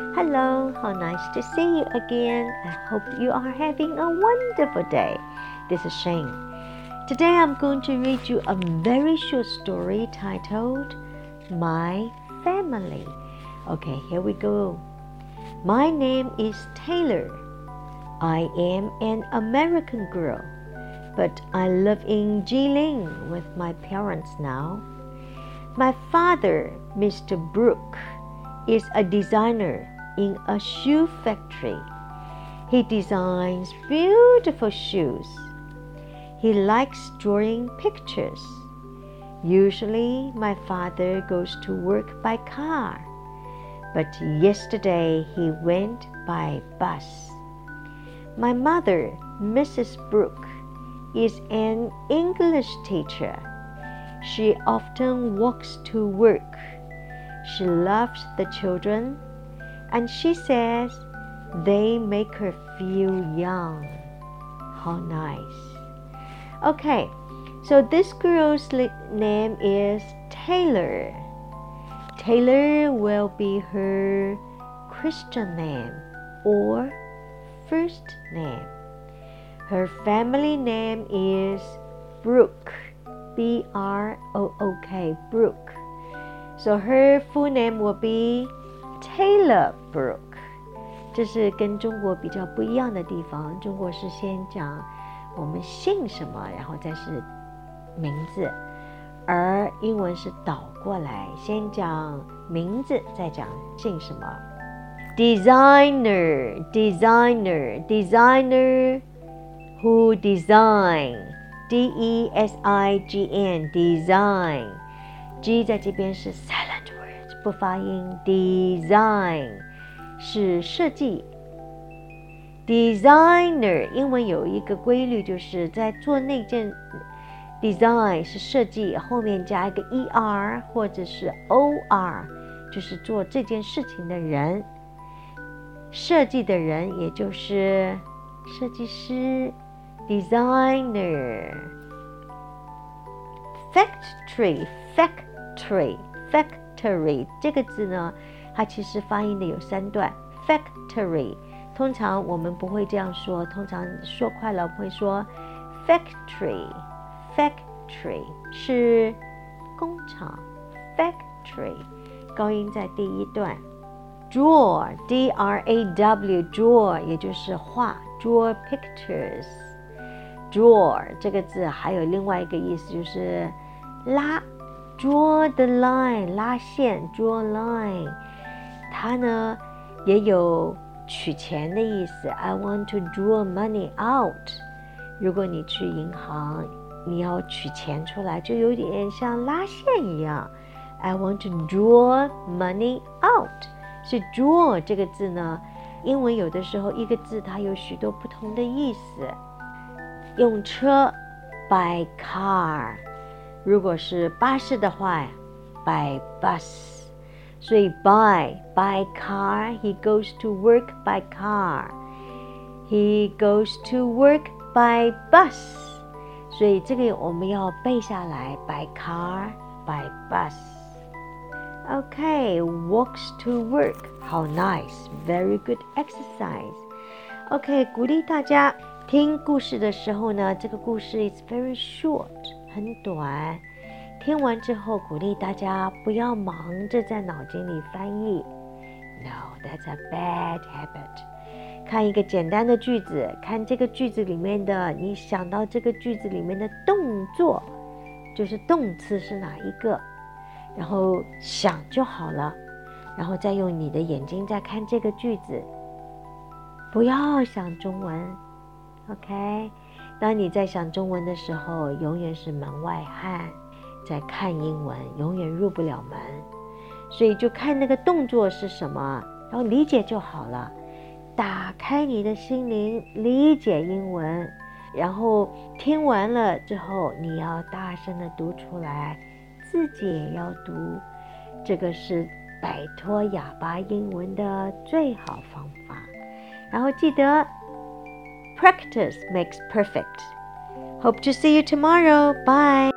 Hello, how nice to see you again. I hope you are having a wonderful day. This is Shane. Today I'm going to read you a very short story titled My Family. Okay, here we go. My name is Taylor. I am an American girl, but I live in Jilin with my parents now. My father, Mr. Brooke, is a designer in a shoe factory. He designs beautiful shoes. He likes drawing pictures. Usually, my father goes to work by car, but yesterday he went by bus. My mother, Mrs. Brooke, is an English teacher. She often walks to work. She loves the children, and she says they make her feel young. How nice. Okay, so this girl's name is Taylor. Taylor will be her Christian name or first name. Her family name is Brooke. B-R-O-O-K, Brooke. So her full name will be Taylor Brooke. 这是跟中国比较不一样的地方。中国是先讲我们姓什么，然后再是名字，而英文是倒过来，先讲名字，再讲姓什么。Designer, designer, designer who design. D-E-S-I-G-N, design. G 在这边是 silent word， 不发音。Design 是设计。Designer 英文有一个规律，就是在做那件 design 是设计，后面加一个 er 或者是 or， 就是做这件事情的人。设计的人也就是设计师。Designer. Factory, factory, factory 这个字呢，它其实发音的有3段。Factory 通常我们不会这样说，通常说快了会说 factory, factory 是工厂。Factory 高音在第一段。Draw, D-R-A-W, draw 也就是画。Draw pictures.Draw 这个字还有另外一个意思，就是拉 draw the line 拉线 draw line， 它呢也有取钱的意思。 I want to draw money out， 如果你去银行你要取钱出来，就有点像拉线一样。 I want to draw money out。 所以 draw 这个字呢，英文有的时候一个字它有许多不同的意思。用车 by car， 如果是巴士的话 by bus， 所以 by car， he goes to work by car， he goes to work by bus， 所以这个我们要背下来 by car by bus。 Okay, walks to work. How nice, very good exercise. Okay, 鼓励大家听故事的时候呢，这个故事 is very short， 很短。听完之后，鼓励大家不要忙着在脑筋里翻译。No, that's a bad habit。 看一个简单的句子，看这个句子里面的，你想到这个句子里面的动作，就是动词是哪一个，然后想就好了，然后再用你的眼睛再看这个句子，不要想中文。OK， 当你在想中文的时候，永远是门外汉，在看英文，永远入不了门。所以就看那个动作是什么，然后理解就好了。打开你的心灵，理解英文，然后听完了之后，你要大声的读出来，自己也要读。这个是摆脱哑巴英文的最好方法。然后记得Practice makes perfect. Hope to see you tomorrow. Bye.